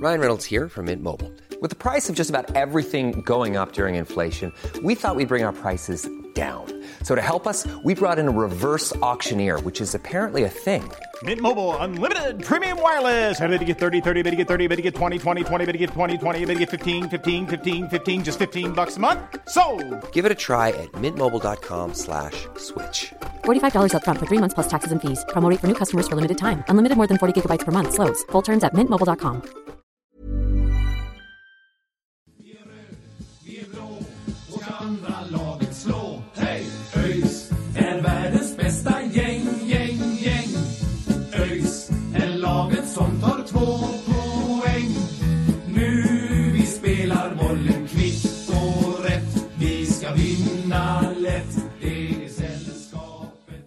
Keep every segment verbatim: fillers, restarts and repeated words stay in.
Ryan Reynolds here from Mint Mobile. With the price of just about everything going up during inflation, we thought we'd bring our prices down. So to help us, we brought in a reverse auctioneer, which is apparently a thing. Mint Mobile Unlimited Premium Wireless. How to get thirty, thirty, how to get thirty, how to get twenty, twenty, twenty, how to get twenty, twenty, how to get fifteen, fifteen, fifteen, fifteen, just fifteen bucks a month? Sold! Give it a try at mintmobile.com slash switch. forty-five dollars up front for three months plus taxes and fees. Promo rate for new customers for limited time. Unlimited more than forty gigabytes per month. Slows full terms at mint mobile dot com. Andra laget slå, hej! ÖIS är världens bästa gäng, gäng, gäng. ÖIS är laget som tar två poäng. Nu vi spelar bollen kvitt och rätt. Vi ska vinna lätt, det är sällskapet.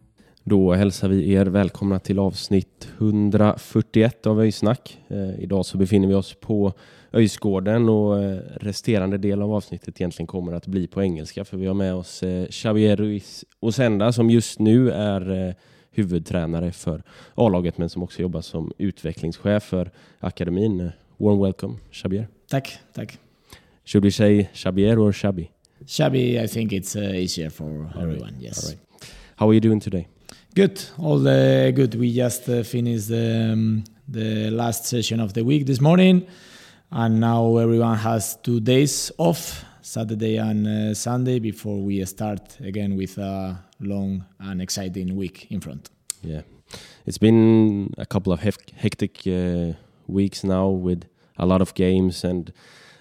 Då hälsar vi er välkomna till avsnitt hundrafyrtioett av ÖIS-snack. Eh, idag så befinner vi oss på ÖIS-gården och resterande del av avsnittet egentligen kommer att bli på engelska, för vi har med oss eh, Xavier Ruiz Osenda som just nu är eh, huvudtränare för A-laget men som också jobbar som utvecklingschef för akademin. Warm welcome, Xavier. Tack, tack. Should we say Xavier or Xabi? Xabi, I think it's uh, easier for All everyone, right. yes. All right. How are you doing today? Good, all uh, good. We just uh, finished the, um, the last session of the week this morning. And now everyone has two days off, Saturday and uh, Sunday, before we start again with a long and exciting week in front. Yeah, it's been a couple of hef- hectic uh, weeks now with a lot of games and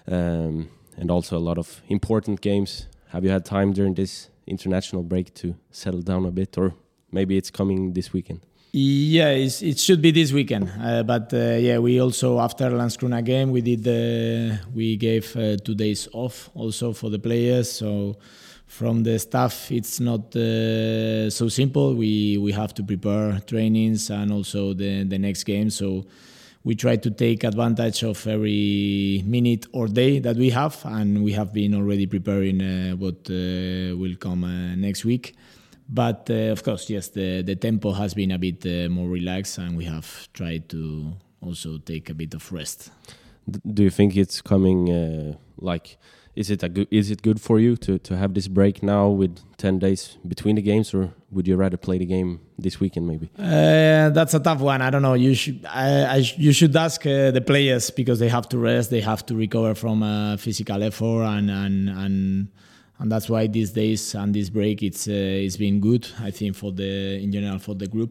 um, and also a lot of important games. Have you had time during this international break to settle down a bit, or maybe it's coming this weekend? Yeah, it's, it should be this weekend. Uh, but uh, yeah, we also after Landskrona game we did uh, we gave uh, two days off also for the players. So from the staff, it's not uh, so simple. We we have to prepare trainings and also the the next game. So we try to take advantage of every minute or day that we have, and we have been already preparing uh, what uh, will come uh, next week. But uh, of course, yes, the, the tempo has been a bit uh, more relaxed, and we have tried to also take a bit of rest. D- do you think it's coming? Uh, like, is it a good? Is it good for you to, to have this break now with ten days between the games, or would you rather play the game this weekend maybe? Uh, that's a tough one. I don't know. You should I, I you should ask uh, the players, because they have to rest. They have to recover from uh, physical effort, and and and. And that's why these days and this break, it's uh, it's been good, I think, for the in general for the group.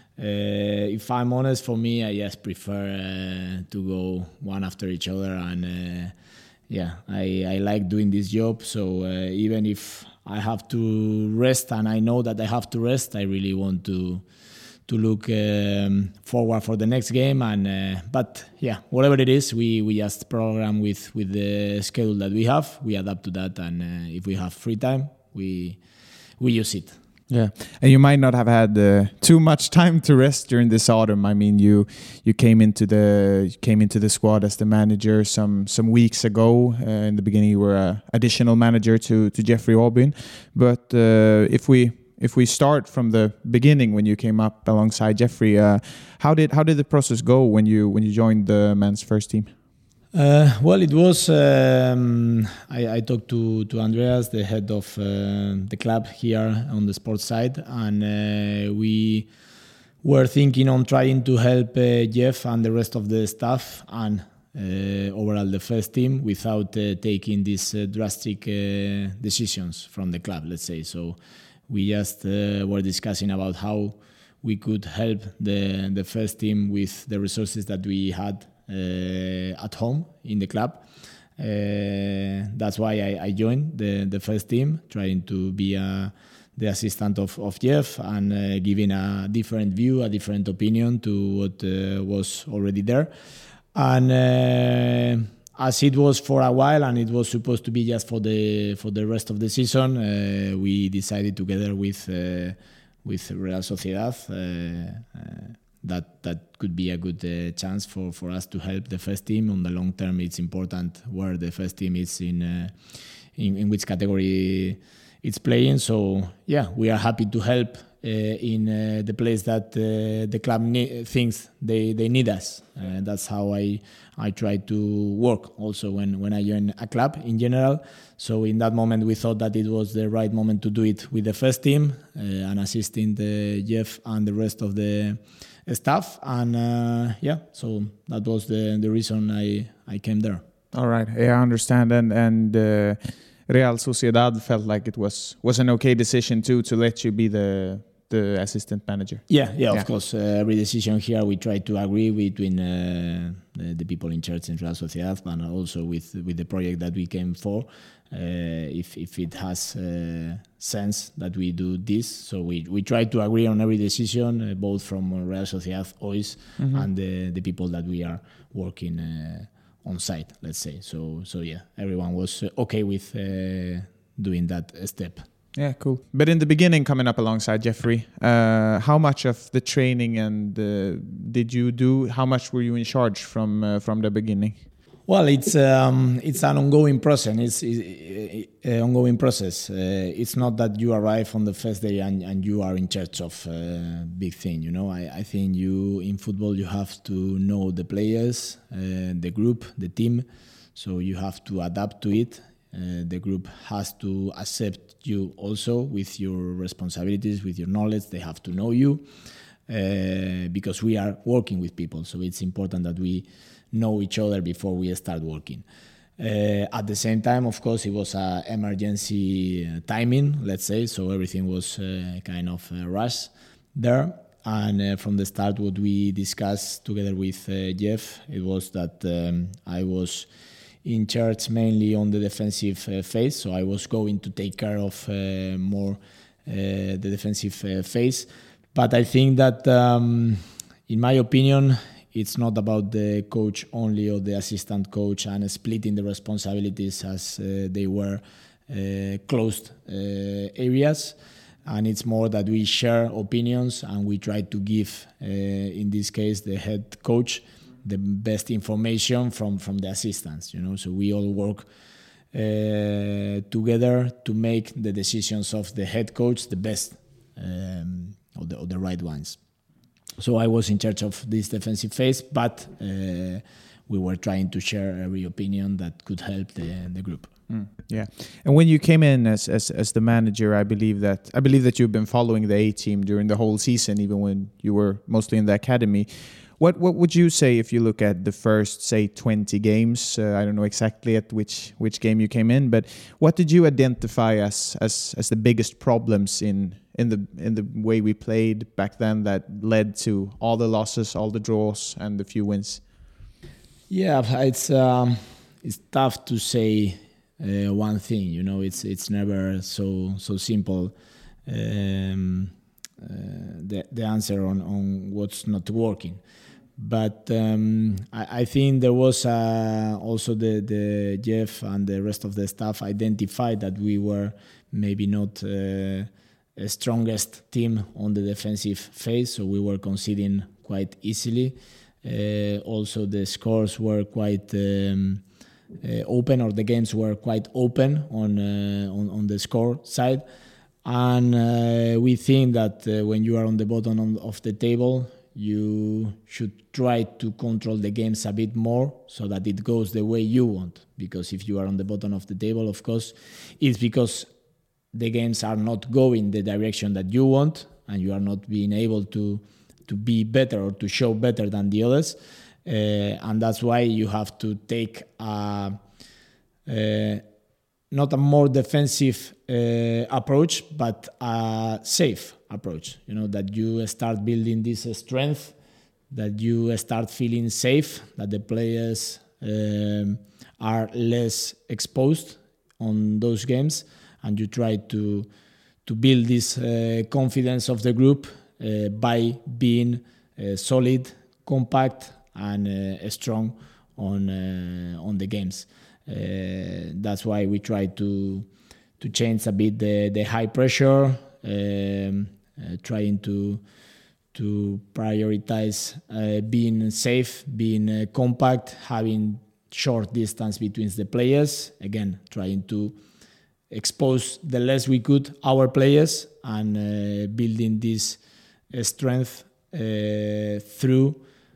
Uh, if I'm honest, for me, I just prefer uh, to go one after each other, and uh, yeah, I, I like doing this job. So uh, even if I have to rest, and I know that I have to rest, I really want to to look um, forward for the next game. And uh, but yeah, whatever it is, we, we just program with, with the schedule that we have. We adapt to that, and uh, if we have free time, we we use it. Yeah, and you might not have had uh, too much time to rest during this autumn. I mean, you you came into the you came into the squad as the manager some some weeks ago. Uh, in the beginning, you were an additional manager to to Jeffrey Aubin. But uh, if we If we start from the beginning, when you came up alongside Jeffrey, uh, how did how did the process go when you when you joined the men's first team? Uh, well, it was um, I, I talked to, to Andreas, the head of uh, the club here on the sports side, and uh, we were thinking on trying to help uh, Jeff and the rest of the staff and uh, overall the first team without uh, taking these uh, drastic uh, decisions from the club, let's say. So we just uh, were discussing about how we could help the the first team with the resources that we had uh, at home in the club. Uh, that's why I, I joined the, the first team, trying to be uh, the assistant of, of Jeff and uh, giving a different view, a different opinion to what uh, was already there. And uh, as it was for a while, and it was supposed to be just for the for the rest of the season, uh, we decided together with uh, with Real Sociedad uh, uh, that that could be a good uh, chance for, for us to help the first team. On the long term, it's important where the first team is in uh, in, in which category it's playing. So yeah, we are happy to help uh, in uh, the place that uh, the club ne- thinks they, they need us. Uh, that's how I I try to work also when, when I join a club in general. So in that moment we thought that it was the right moment to do it with the first team uh, and assisting the Jeff and the rest of the staff. And uh, yeah, so that was the, the reason I, I came there. All right, yeah, I understand. And and uh, Real Sociedad felt like it was was an okay decision too to let you be the the assistant manager. Yeah, yeah, Yeah. of course. Uh, every decision here we try to agree between uh, the, the people in charge in Real Sociedad, but also with with the project that we came for. Uh, if if it has uh, sense that we do this, so we we try to agree on every decision, uh, both from Real Sociedad, O I S, mm-hmm. and the the people that we are working uh, on site. Let's say so. So yeah, everyone was uh, okay with uh, doing that step. Yeah, cool. But in the beginning, coming up alongside Jeffrey, uh, how much of the training and uh, did you do? How much were you in charge from uh, from the beginning? Well, it's um, it's an ongoing process. It's, it's an ongoing process. Uh, it's not that you arrive on the first day and, and you are in charge of a big thing. You know, I, I think you in football you have to know the players, uh, the group, the team. So you have to adapt to it. Uh, the group has to accept you also with your responsibilities, with your knowledge. They have to know you uh, because we are working with people. So it's important that we know each other before we start working. Uh, at the same time, of course, it was an emergency uh, timing, let's say. So everything was uh, kind of uh, rushed there. And uh, from the start, what we discussed together with uh, Jeff, it was that um, I was in charge mainly on the defensive uh, phase, so I was going to take care of uh, more uh, the defensive uh, phase. But I think that, um, in my opinion, it's not about the coach only or the assistant coach and splitting the responsibilities as uh, they were uh, closed uh, areas. And it's more that we share opinions and we try to give, uh, in this case, the head coach the best information from, from the assistants, you know. So we all work uh, together to make the decisions of the head coach the best um, or, the, or the right ones. So I was in charge of this defensive phase, but uh, we were trying to share every opinion that could help the, the group. Mm, yeah, and when you came in as, as as the manager, I believe that I believe that you've been following the A team during the whole season, even when you were mostly in the academy. What what would you say if you look at the first, say, twenty games? Uh, I don't know exactly at which which game you came in, but what did you identify as as as the biggest problems in in the in the way we played back then that led to all the losses, all the draws, and the few wins? Yeah, it's um, it's tough to say uh, one thing. You know, it's it's never so so simple. Um, uh, the the answer on on what's not working. But um, I, I think there was uh, also the, the Jeff and the rest of the staff identified that we were maybe not uh, a strongest team on the defensive phase, so we were conceding quite easily. Uh, also, the scores were quite um, uh, open, or the games were quite open on uh, on, on the score side. And uh, we think that uh, when you are on the bottom on, of the table, you should try to control the games a bit more so that it goes the way you want. Because if you are on the bottom of the table, of course, it's because the games are not going the direction that you want and you are not being able to to be better or to show better than the others. Uh, and that's why you have to take a, uh, not a more defensive uh, approach, but a safe approach. You know, that you start building this strength, that you start feeling safe, that the players um, are less exposed on those games, and you try to to build this uh, confidence of the group uh, by being uh, solid, compact, and uh, strong on uh, on the games. Uh, that's why we try to to change a bit the, the high pressure, um, uh, trying to to prioritize uh, being safe, being uh, compact, having short distance between the players. Again, trying to expose the less we could our players and uh, building this uh, strength uh, through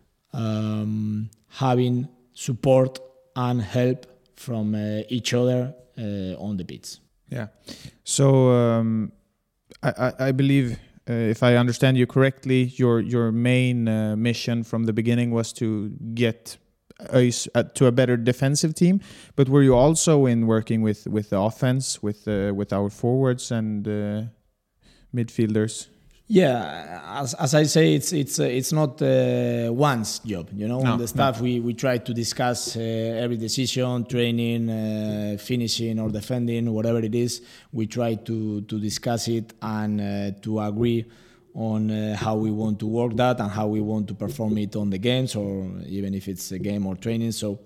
um, having support and help from uh, each other uh, on the pitch. Yeah. So um, I, I, I believe, uh, if I understand you correctly, your your main uh, mission from the beginning was to get Öis uh, to a better defensive team. But were you also in working with, with the offense, with uh, with our forwards and uh, midfielders? Yeah, as as I say, it's it's uh, it's not uh, one's job, you know. No, On the staff, no. we we try to discuss uh, every decision, training, uh, finishing or defending, whatever it is. We try to to discuss it and uh, to agree on uh, how we want to work that and how we want to perform it on the games, or even if it's a game or training. So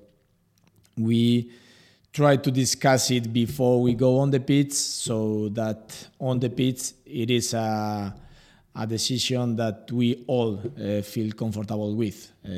we try to discuss it before we go on the pitch, so that on the pitch it is a a decision that we all uh, feel comfortable with uh,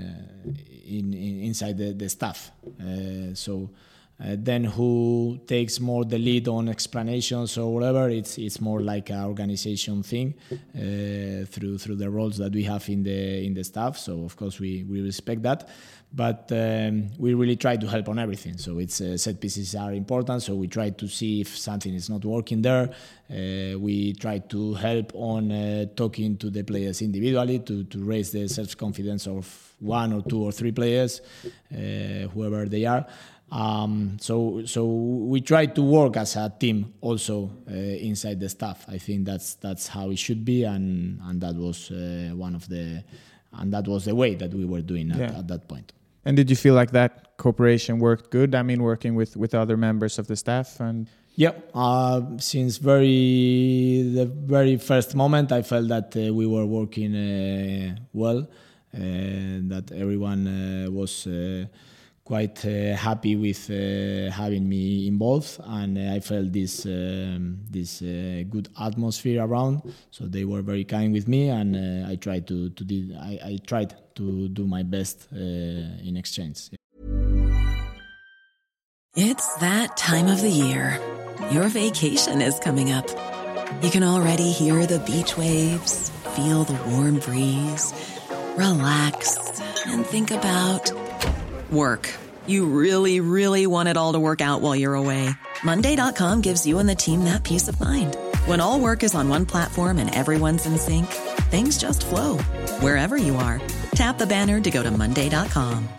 in, in inside the, the staff. Uh, so uh, then who takes more the lead on explanations or whatever, it's it's more like an organization thing uh, through through the roles that we have in the in the staff. So of course we, we respect that. But um, we really try to help on everything. So it's uh, set pieces are important. So we try to see if something is not working there. Uh, we try to help on uh, talking to the players individually to, to raise the self-confidence of one or two or three players, uh, whoever they are. Um, so so we try to work as a team also uh, inside the staff. I think that's that's how it should be, and and that was uh, one of the and that was the way that we were doing at, Yeah. at that point. And did you feel like that cooperation worked good? I mean, working with, with other members of the staff and... Yeah, uh, since very the very first moment, I felt that uh, we were working uh, well, uh, that everyone uh, was uh, quite uh, happy with uh, having me involved, and uh, I felt this um, this uh, good atmosphere around. So they were very kind with me, and uh, I tried to to do, I, I tried to do my best uh, in exchange. It's that time of the year. Your vacation is coming up. You can already hear the beach waves, feel the warm breeze, relax, and think about work. You really, really want it all to work out while you're away. Monday dot com gives you and the team that peace of mind. When all work is on one platform and everyone's in sync, things just flow. Wherever you are, tap the banner to go to Monday dot com.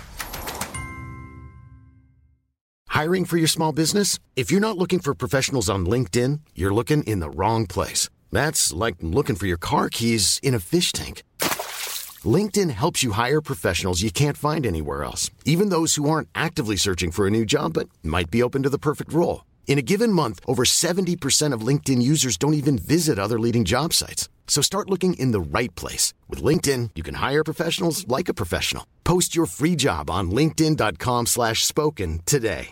Hiring for your small business? If you're not looking for professionals on LinkedIn, you're looking in the wrong place. That's like looking for your car keys in a fish tank. LinkedIn helps you hire professionals you can't find anywhere else, even those who aren't actively searching for a new job but might be open to the perfect role. In a given month, over seventy percent of LinkedIn users don't even visit other leading job sites. So start looking in the right place. With LinkedIn, you can hire professionals like a professional. Post your free job on linkedin dot com slash spoken today.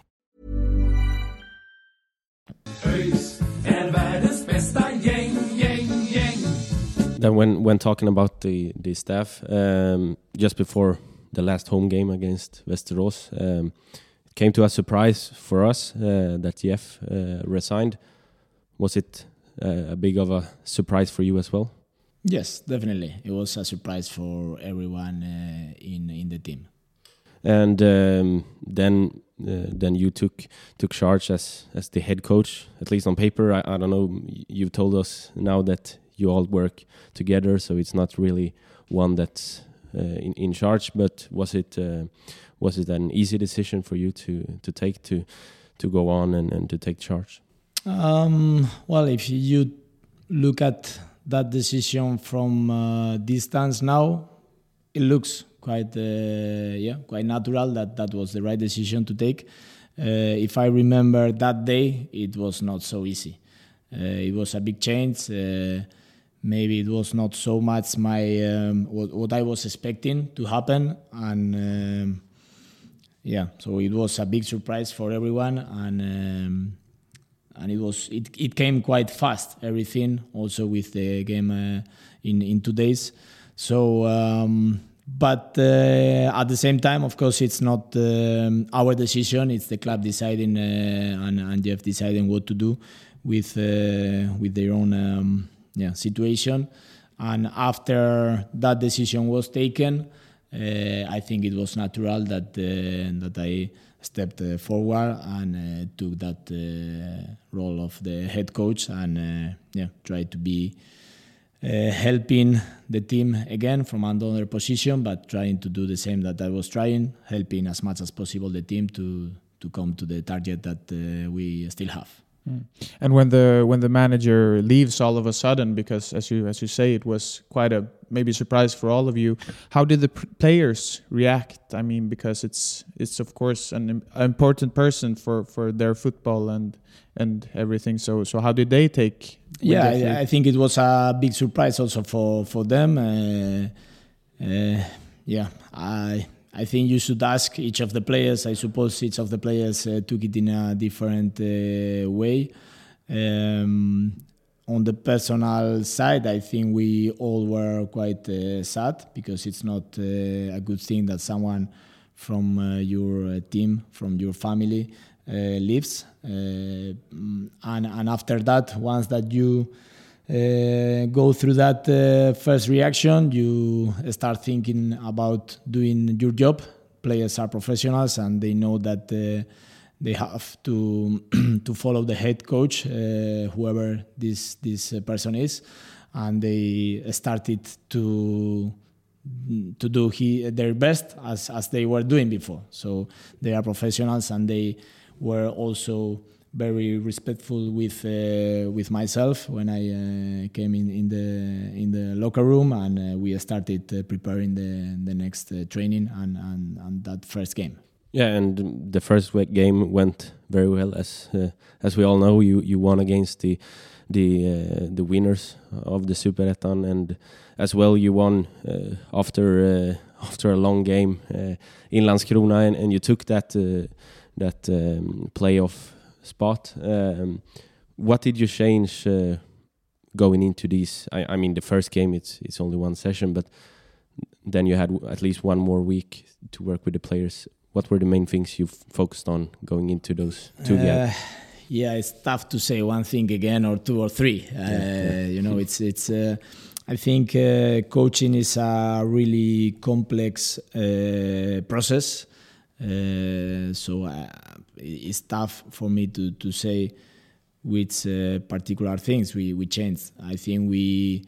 ÖIS är världens bästa gäng, gäng, gäng. Then when when talking about the the staff, um, just before the last home game against Västerås, um, it came to a surprise for us uh, that Jeff uh, resigned. Was it uh, a big of a surprise for you as well? Yes, definitely. It was a surprise for everyone uh, in in the team. And um, then uh, then you took took charge as as the head coach, at least on paper. I, I don't know. You've told us now that you all work together, so it's not really one that's uh, in in charge. But was it uh, was it an easy decision for you to to take to to go on and, and to take charge? Um, well, if you look at that decision from uh, distance now, it looks quite uh, yeah quite natural that that was the right decision to take. Uh, if I remember that day, it was not so easy. Uh, it was a big change. Uh, maybe it was not so much my um, what, what I was expecting to happen, and um, yeah, so it was a big surprise for everyone, and um, and it was it, it came quite fast. Everything also with the game uh, in in two days. So um, But uh, at the same time, of course, it's not um, our decision. It's the club deciding uh, and, and Jeff deciding what to do with uh, with their own um, yeah situation. And after that decision was taken, uh, I think it was natural that uh, that I stepped uh, forward and uh, took that uh, role of the head coach and uh, yeah, tried to be uh, helping the team again from another position, but trying to do the same that I was trying, helping as much as possible the team to to come to the target that uh, we still have. Mm. And when the when the manager leaves all of a sudden, because as you as you say, it was quite a maybe surprise for all of you. How did the pr- players react? I mean, because it's it's of course an im- important person for, for their football and and everything. So so how did they take? Yeah, I, I think it was a big surprise also for for them. Uh, uh, yeah, I. I think you should ask each of the players. I suppose each of the players uh, took it in a different uh, way. Um, on the personal side, I think we all were quite uh, sad because it's not uh, a good thing that someone from uh, your team, from your family, uh, leaves. Uh, and, and after that, once that you Uh, go through that uh, first reaction, you start thinking about doing your job. Players are professionals and they know that uh, they have to to follow the head coach, uh, whoever this this person is, and they started to to do he, their best as as they were doing before. So they are professionals and they were also very respectful with uh, with myself when I uh, came in, in the in the locker room, and uh, we started uh, preparing the the next uh, training and, and and that first game. Yeah, and the first game went very well, as uh, as we all know. You you won against the the uh, the winners of the Superettan, and as well you won uh, after uh, after a long game uh, in Landskrona, and, and you took that uh, that um, playoff spot. Um, what did you change uh, going into these? I, I mean, the first game it's it's only one session, but then you had w- at least one more week to work with the players. What were the main things you f- focused on going into those two uh, games? Yeah, it's tough to say one thing again or two or three. Uh, yeah, yeah. You know, it's it's. Uh, I think uh, coaching is a really complex uh, process. Uh, so uh, it's tough for me to, to say which uh, particular things we, we changed. I think we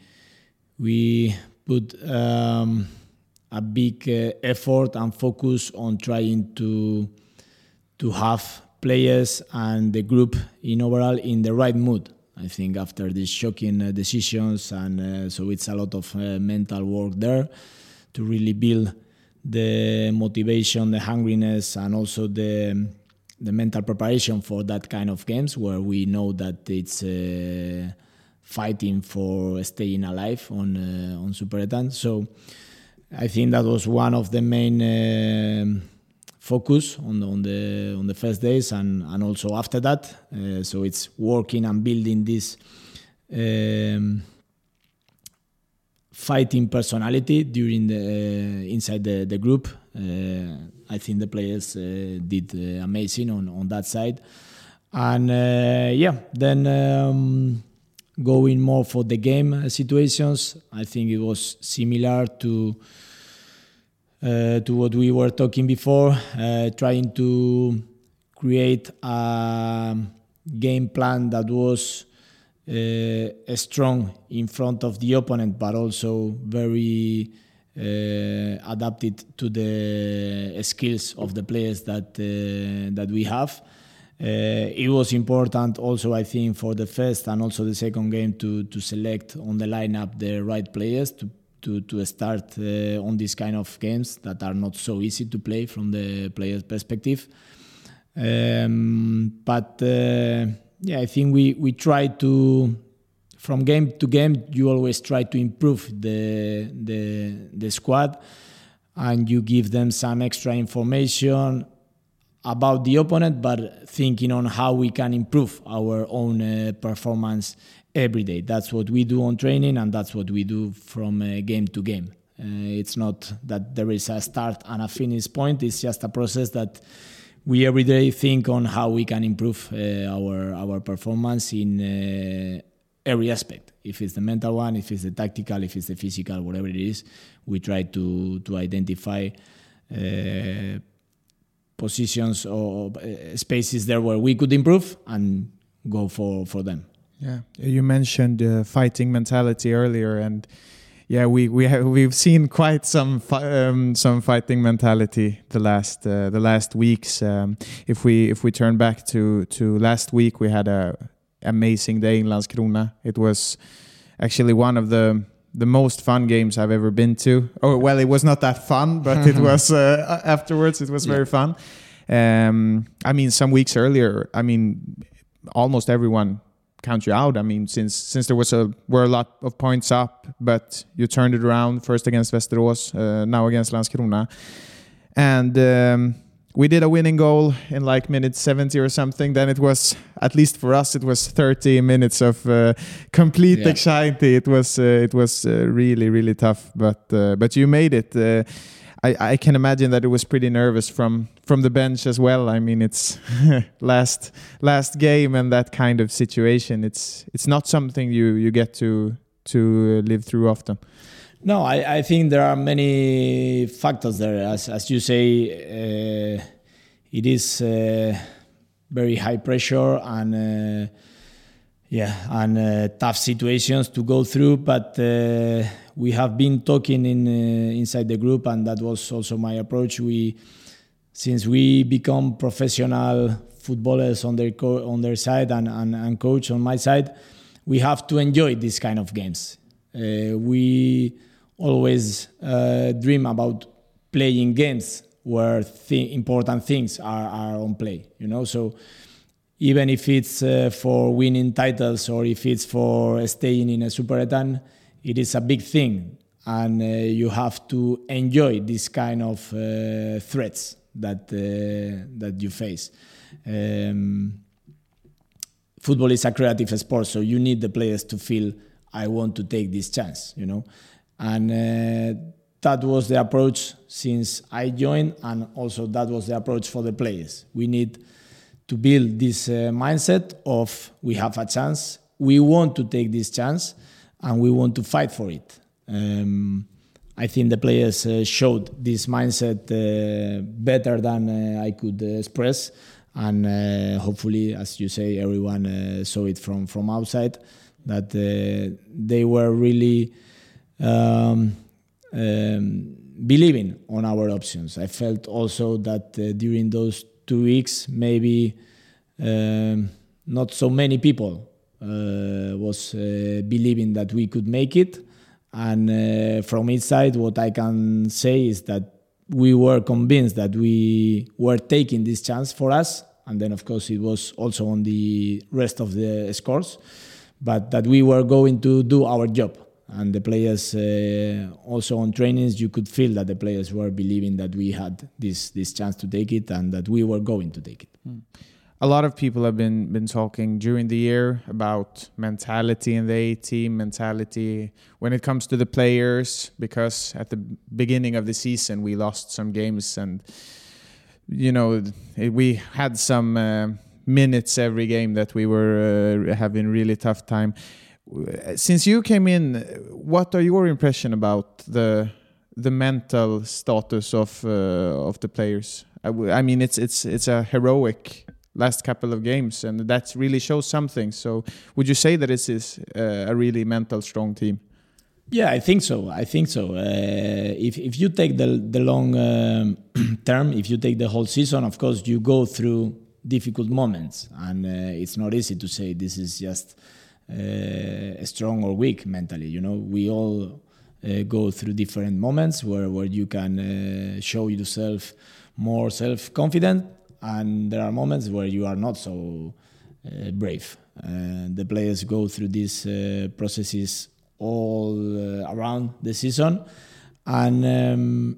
we put um, a big uh, effort and focus on trying to to have players and the group in overall in the right mood. I think after these shocking uh, decisions, and uh, so it's a lot of uh, mental work there to really build the motivation, the hungriness, and also the the mental preparation for that kind of games where we know that it's uh, fighting for staying alive on uh, on Superettan. So I think that was one of the main uh, focus on the, on the on the first days and, and also after that. Uh, so it's working and building this um, fighting personality during the uh, inside the, the group. Uh, I think the players uh, did uh, amazing on, on that side. And uh, yeah, then um, going more for the game situations, I think it was similar to uh, to what we were talking before, uh, trying to create a game plan that was uh, strong in front of the opponent, but also very uh, adapted to the skills of the players that uh, that we have. Uh, it was important also, I think, for the first and also the second game to to select on the lineup the right players to to to start uh, on these kind of games that are not so easy to play from the player's perspective. Um, but uh, yeah, I think we we try to, from game to game, you always try to improve the the the squad, and you give them some extra information about the opponent, but thinking on how we can improve our own uh, performance every day. That's what we do on training, and that's what we do from uh, game to game. Uh, it's not that there is a start and a finish point. It's just a process that we every day think on how we can improve uh, our our performance in uh, every aspect. If it's the mental one, if it's the tactical, if it's the physical, whatever it is, we try to to identify uh, positions or uh, spaces there where we could improve and go for, for them. Yeah, you mentioned uh, fighting mentality earlier, and yeah, we we have we've seen quite some fi- um, some fighting mentality the last uh, the last weeks. Um, if we if we turn back to to last week, we had a amazing day in Landskrona. It was actually one of the the most fun games I've ever been to. Oh well, it was not that fun, but it was uh, afterwards. It was yeah. very fun. Um, I mean, some weeks earlier, I mean, almost everyone count you out. I mean, since since there was a were a lot of points up, but you turned it around first against Västerås, uh, now against Landskrona, and um, we did a winning goal in like minute seventy or something. Then it was, at least for us, it was thirty minutes of uh, complete yeah. anxiety. It was uh, it was uh, really really tough, but uh, but you made it. Uh, I, I can imagine that it was pretty nervous from, from the bench as well. I mean, it's last last game and that kind of situation. It's it's not something you, you get to to live through often. No, I, I think there are many factors there. As as you say, uh, it is uh, very high pressure and uh, yeah, and uh, tough situations to go through. But uh, we have been talking in uh, inside the group, and that was also my approach. We, since we become professional footballers on their co- on their side and, and and coach on my side, we have to enjoy these kind of games. Uh, we always uh, dream about playing games where th- important things are, are on play, you know. So even if it's uh, for winning titles or if it's for staying in a Superettan, it is a big thing, and uh, you have to enjoy this kind of uh, threats that uh, that you face. Um, football is a creative sport, so you need the players to feel, I want to take this chance, you know. And uh, that was the approach since I joined, and also that was the approach for the players. We need to build this uh, mindset of we have a chance, we want to take this chance, and we want to fight for it. Um, I think the players uh, showed this mindset uh, better than uh, I could uh, express, and uh, hopefully, as you say, everyone uh, saw it from, from outside, that uh, they were really um, um, believing on our options. I felt also that uh, during those two weeks, maybe um, not so many people uh, was uh, believing that we could make it. And uh, from inside, what I can say is that we were convinced that we were taking this chance for us. And then, of course, it was also on the rest of the scores, but that we were going to do our job. And the players, uh, also on trainings, you could feel that the players were believing that we had this this chance to take it and that we were going to take it. Mm. A lot of people have been been talking during the year about mentality in the A team, mentality when it comes to the players, because at the beginning of the season we lost some games, and you know we had some uh, minutes every game that we were uh, having really tough time. Since you came in, what are your impression about the the mental status of uh, of the players? I, w- I mean, it's it's it's a heroic last couple of games, and that really shows something. So, would you say that this is uh, a really mental strong team? Yeah, I think so. I think so. Uh, if if you take the the long um, term, if you take the whole season, of course you go through difficult moments, and uh, it's not easy to say this is just uh, strong or weak mentally. You know, we all uh, go through different moments where where you can uh, show yourself more self-confident, and there are moments where you are not so uh, brave. Uh, the players go through these uh, processes all uh, around the season, and um,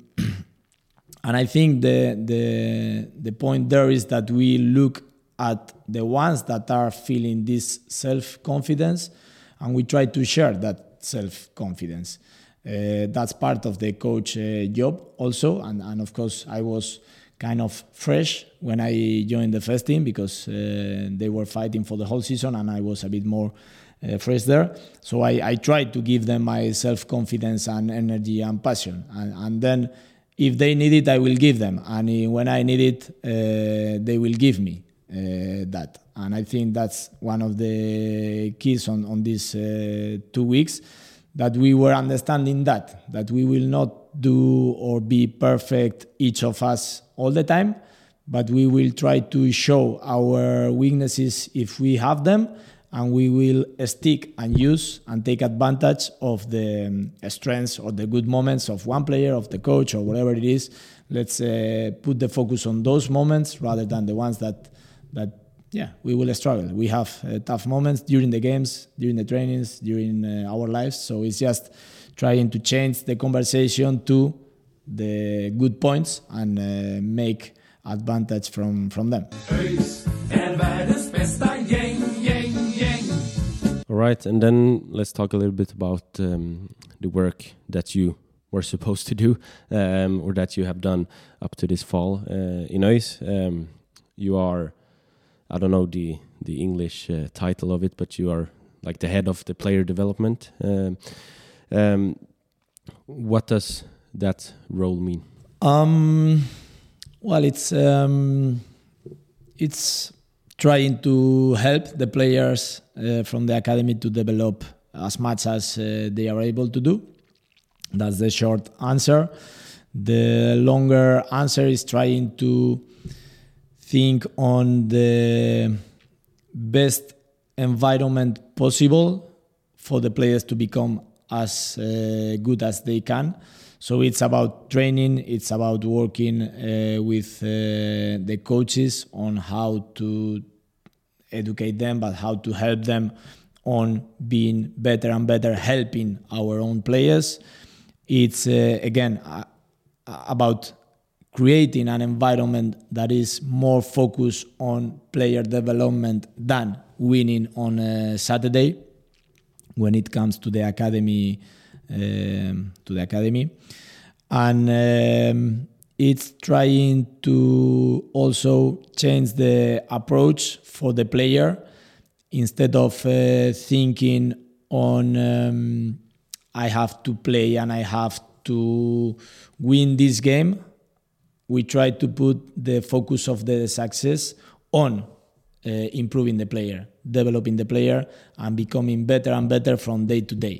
and I think the the the point there is that we look at the ones that are feeling this self-confidence, and we try to share that self-confidence. Uh, that's part of the coach uh, job also, and, and of course I was kind of fresh when I joined the first team because uh, they were fighting for the whole season and I was a bit more uh, fresh there. So I, I tried to give them my self-confidence and energy and passion, and, and then if they need it, I will give them, and when I need it, uh, they will give me uh, that. And I think that's one of the keys on, on these uh, two weeks, that we were understanding that, that we will not do or be perfect, each of us, all the time, but we will try to show our weaknesses if we have them, and we will stick and use and take advantage of the um, strengths or the good moments of one player, of the coach, or whatever it is. Let's uh, put the focus on those moments rather than the ones that, that yeah, we will struggle. We have uh, tough moments during the games, during the trainings, during uh, our lives. So it's just trying to change the conversation to the good points and uh, make advantage from, from them. ÖIS är världens bästa gäng, gäng, gäng. All right, and then let's talk a little bit about um, the work that you were supposed to do, um, or that you have done up to this fall uh, in ÖIS. Um, you are, I don't know the the English uh, title of it, but you are like the head of the player development. Um, um, what does that role mean? Um, well, it's um, it's trying to help the players uh, from the academy to develop as much as uh, they are able to do. That's the short answer. The longer answer is trying to think on the best environment possible for the players to become as uh, good as they can. So it's about training, it's about working uh, with uh, the coaches on how to educate them, but how to help them on being better and better, helping our own players. It's, uh, again, uh, about creating an environment that is more focused on player development than winning on a Saturday when it comes to the academy. Um, to the academy, and um, it's trying to also change the approach for the player. Instead of uh, thinking on um, I have to play and I have to win this game, we try to put the focus of the success on uh, improving the player, developing the player, and becoming better and better from day to day.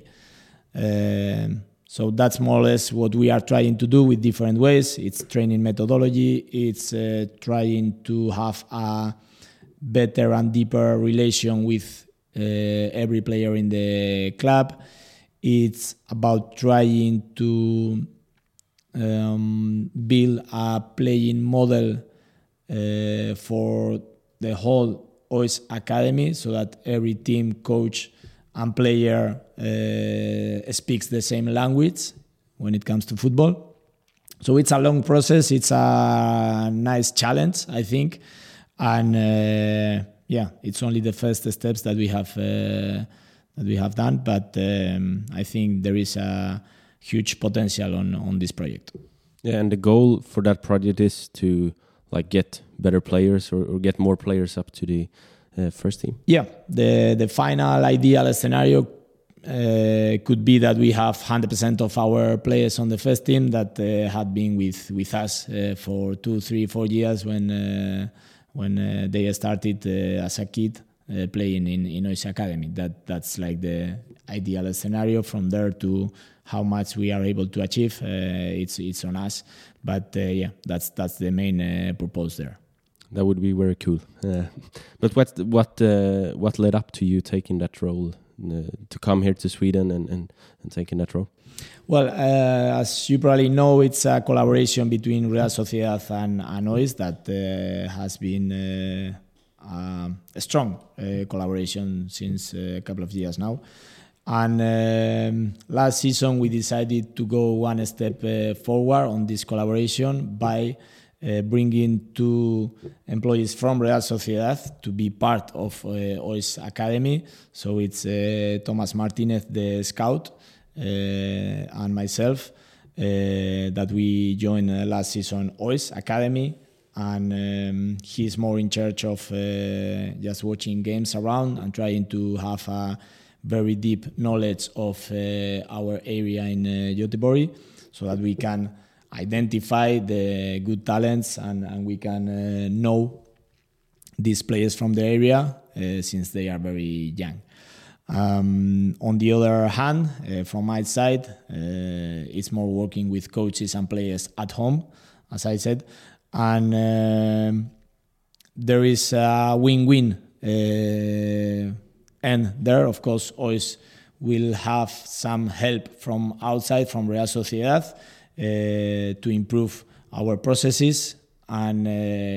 Um, so that's more or less what we are trying to do with different ways. It's training methodology. It's uh, trying to have a better and deeper relation with uh, every player in the club. It's about trying to um, build a playing model uh, for the whole ÖIS Academy, so that every team, coach, and player uh, speaks the same language when it comes to football. So it's a long process. It's a nice challenge, I think. And uh, yeah, it's only the first steps that we have uh, that we have done. But um, I think there is a huge potential on, on this project. Yeah, and the goal for that project is to like get better players or, or get more players up to the Uh, first team. Yeah, the the final ideal scenario uh, could be that we have one hundred percent of our players on the first team that uh, had been with with us uh, for two, three, four years when uh, when uh, they started uh, as a kid uh, playing in in ÖIS Academy. That that's like the ideal scenario. From there to how much we are able to achieve, uh, it's it's on us. But uh, yeah, that's that's the main uh, purpose there. That would be very cool. Uh, but what what uh, what led up to you taking that role uh, to come here to Sweden and, and, and taking that role? Well, uh, as you probably know, it's a collaboration between Real Sociedad and, and ÖIS that uh, has been uh, uh, a strong uh, collaboration since a couple of years now. And um, last season we decided to go one step uh, forward on this collaboration by Uh, bringing two employees from Real Sociedad to be part of uh, ÖIS Academy. So it's uh, Thomas Martinez, the scout, uh, and myself uh, that we joined uh, last season O I S Academy, and um, he's more in charge of uh, just watching games around and trying to have a very deep knowledge of uh, our area in uh, Göteborg, so that we can identify the good talents and, and we can uh, know these players from the area uh, since they are very young. Um, on the other hand, uh, from my side, uh, it's more working with coaches and players at home, as I said, and uh, there is a win-win uh, end there. Of course, O I S will have some help from outside, from Real Sociedad, uh, to improve our processes. And uh,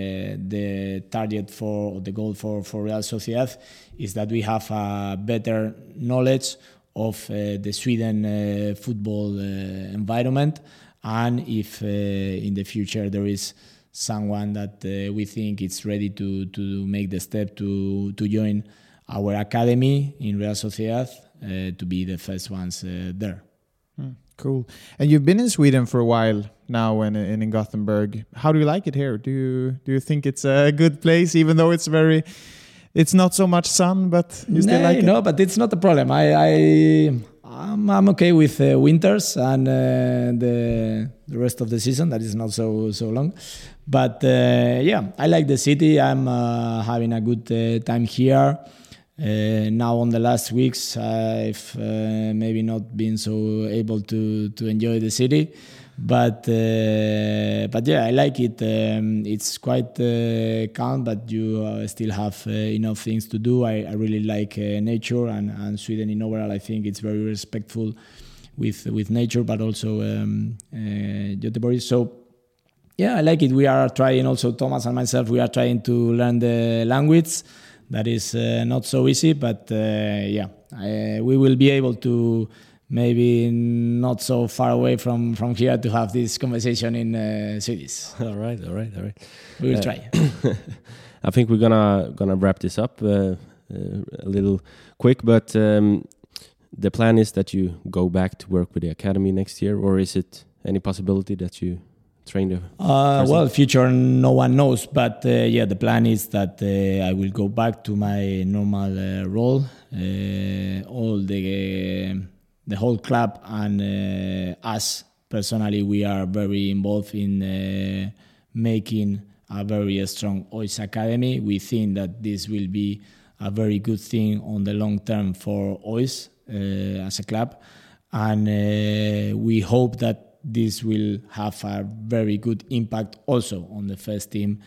the target for the goal for, for Real Sociedad is that we have a better knowledge of uh, the Sweden uh, football uh, environment, and if uh, in the future there is someone that uh, we think is ready to to make the step to to join our academy in Real Sociedad, uh, to be the first ones uh, there. Mm, cool. And you've been in Sweden for a while now, and in, in Gothenburg. How do you like it here? Do you do you think it's a good place, even though it's very, it's not so much sun, but you still no, like it? No, but it's not a problem. I, I I'm, I'm okay with uh, winters and uh, the the rest of the season that is not so so long. But uh, yeah, I like the city. I'm uh, having a good uh, time here. Uh, now on the last weeks, I've uh, maybe not been so able to to enjoy the city, but uh, but yeah, I like it. Um, it's quite uh, calm, but you uh, still have uh, enough things to do. I, I really like uh, nature, and, and Sweden in overall, I think it's very respectful with with nature, but also um, uh, Göteborg. So yeah, I like it. We are trying also, Thomas and myself, we are trying to learn the language. That is uh, not so easy, but uh, yeah, I, we will be able to maybe not so far away from, from here to have this conversation in uh, Swedish. All right, all right, all right. We will uh, try. I think we're gonna gonna wrap this up uh, uh, a little quick, but um, the plan is that you go back to work with the academy next year, or is it any possibility that you train the uh, well, future no one knows, but uh, yeah, the plan is that uh, I will go back to my normal uh, role. Uh, all the uh, the whole club and uh, us personally, we are very involved in uh, making a very strong O I S academy. We think that this will be a very good thing on the long term for O I S uh, as a club, and uh, we hope that this will have a very good impact also on the first team,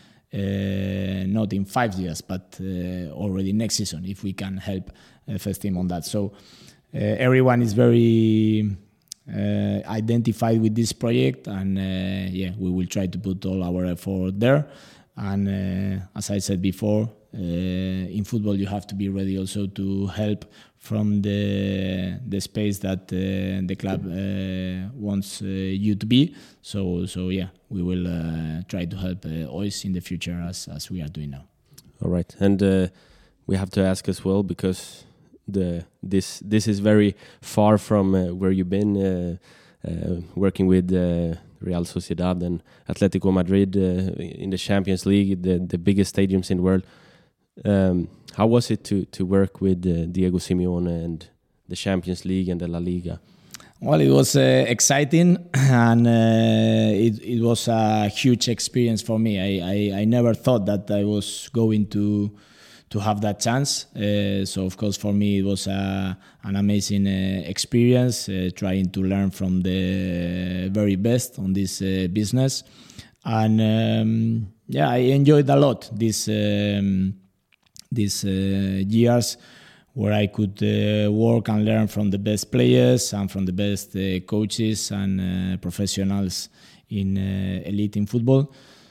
uh, not in five years, but uh, already next season, if we can help the first team on that. So uh, everyone is very uh, identified with this project, and uh, yeah, we will try to put all our effort there. And uh, as I said before, uh, in football you have to be ready also to help from the the space that uh, the club uh, wants uh, you to be. So so yeah, we will uh, try to help uh, O I S in the future as as we are doing now. All right, and uh, we have to ask as well, because the this this is very far from uh, where you've been uh, uh, working with uh, Real Sociedad and Atletico Madrid uh, in the Champions League, the the biggest stadiums in the world. Um, how was it to to work with uh, Diego Simeone and the Champions League and the La Liga? Well, it was uh, exciting, and uh, it it was a huge experience for me. I, I, I never thought that I was going to to have that chance. Uh, so of course for me it was a, an amazing uh, experience, uh, trying to learn from the very best on this uh, business, and um, yeah, I enjoyed a lot this. Um, these uh, years where I could uh, work and learn from the best players and from the best uh, coaches and uh, professionals in uh, elite in football.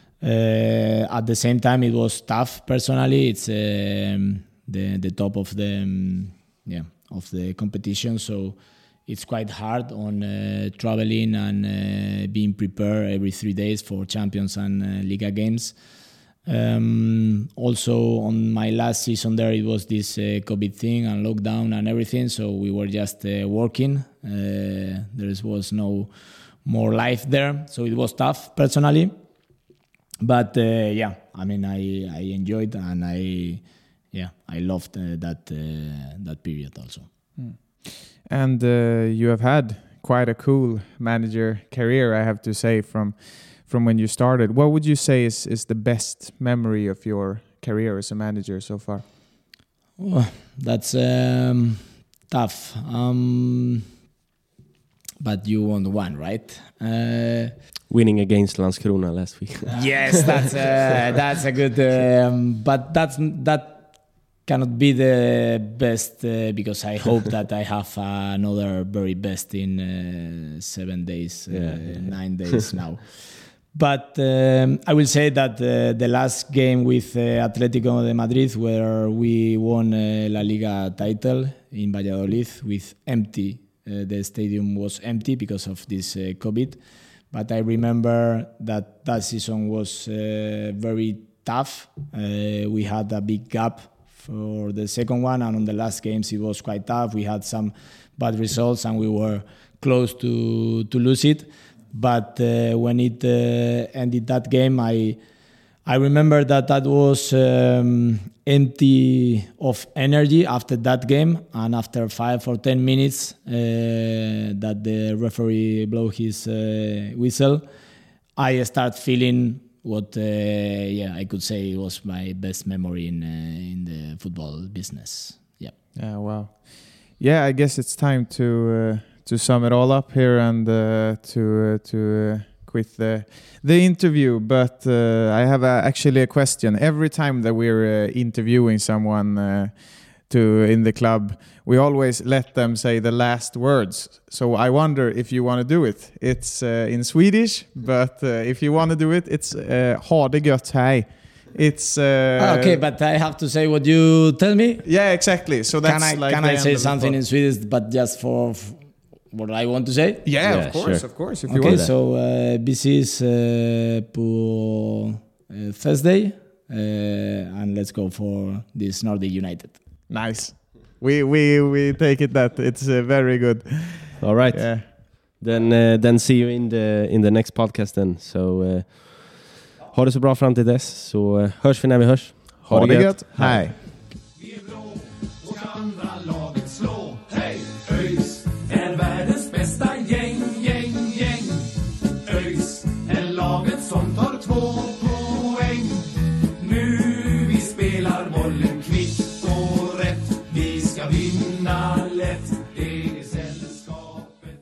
Uh, at the same time, it was tough personally. It's um, the the top of the um, yeah of the competition, so it's quite hard on uh, traveling and uh, being prepared every three days for Champions and uh, Liga games. Um, also on my last season there, it was this uh, COVID thing and lockdown and everything, so we were just uh, working. Uh, there was no more life there, so it was tough personally. But uh, yeah, I mean, I, I enjoyed and I yeah I loved uh, that uh, that period also. Mm. And uh, you have had quite a cool manager career, I have to say, from from when you started. What would you say is, is the best memory of your career as a manager so far? Oh, that's um, tough. Um, but you won one, right? Uh, Winning against Landskrona last week. Yes, that's uh, that's a good. Um, but that's that cannot be the best uh, because I hope that I have another very best in uh, seven days, uh, yeah, yeah. nine days now. But um, I will say that uh, the last game with uh, Atlético de Madrid, where we won uh, La Liga title in Valladolid with empty, uh, the stadium was empty because of this uh, COVID. But I remember that that season was uh, very tough. Uh, we had a big gap for the second one, and on the last games it was quite tough. We had some bad results and we were close to, to lose it. But uh, when it uh, ended that game, I I remember that that was um, empty of energy after that game, and after five or ten minutes uh, that the referee blow his uh, whistle, I start feeling what uh, yeah I could say was my best memory in uh, in the football business. Yeah. Yeah. Wow. Yeah. I guess it's time to. Uh to sum it all up here and uh, to uh, to uh, quit the the interview, but uh, I have a, actually a question. Every time that we're uh, interviewing someone uh, to in the club, we always let them say the last words. So I wonder if you want to do it. It's uh, in Swedish, but uh, if you want to do it, it's uh, ha det gött hej. It's uh, okay, but I have to say what you tell me. Yeah, exactly. So that's can I like can I say something in Swedish, but just for f- what I want to say? Yeah, yeah of course, sure. of course. If you okay, want so uh, this is uh, pour uh, Thursday, uh, and let's go for this Nordic United. Nice. We we we take it that it's uh, very good. All right. Yeah. Then uh, then see you in the in the next podcast then. So uh, ha det så bra fram till dess, så uh, hörs vi när vi hörs. Ha, ha det gött. gött. Hej. Vi är blå och andra laget slå. Hej, ÖIS är världens bästa gäng, gäng, gäng. ÖIS är laget som tar två poäng. Nu vi spelar bollen kvitt och rätt. Vi ska vinna lätt. Det är sällskapet.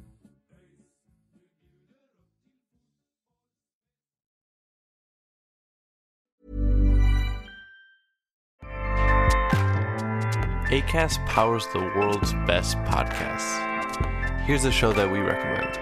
Acast powers the world's best podcasts. Here's a show that we recommend.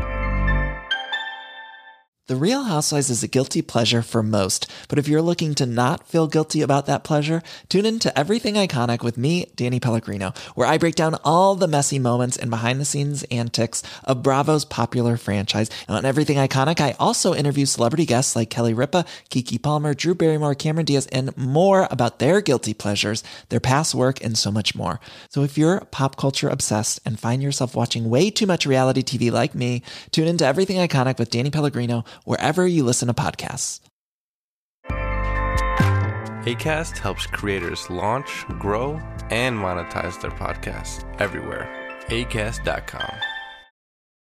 The Real Housewives is a guilty pleasure for most, but if you're looking to not feel guilty about that pleasure, tune in to Everything Iconic with me, Danny Pellegrino, where I break down all the messy moments and behind-the-scenes antics of Bravo's popular franchise. And on Everything Iconic, I also interview celebrity guests like Kelly Ripa, Keke Palmer, Drew Barrymore, Cameron Diaz, and more about their guilty pleasures, their past work, and so much more. So if you're pop culture obsessed and find yourself watching way too much reality T V like me, tune in to Everything Iconic with Danny Pellegrino, wherever you listen to podcasts. Acast helps creators launch, grow, and monetize their podcasts everywhere. acast dot com.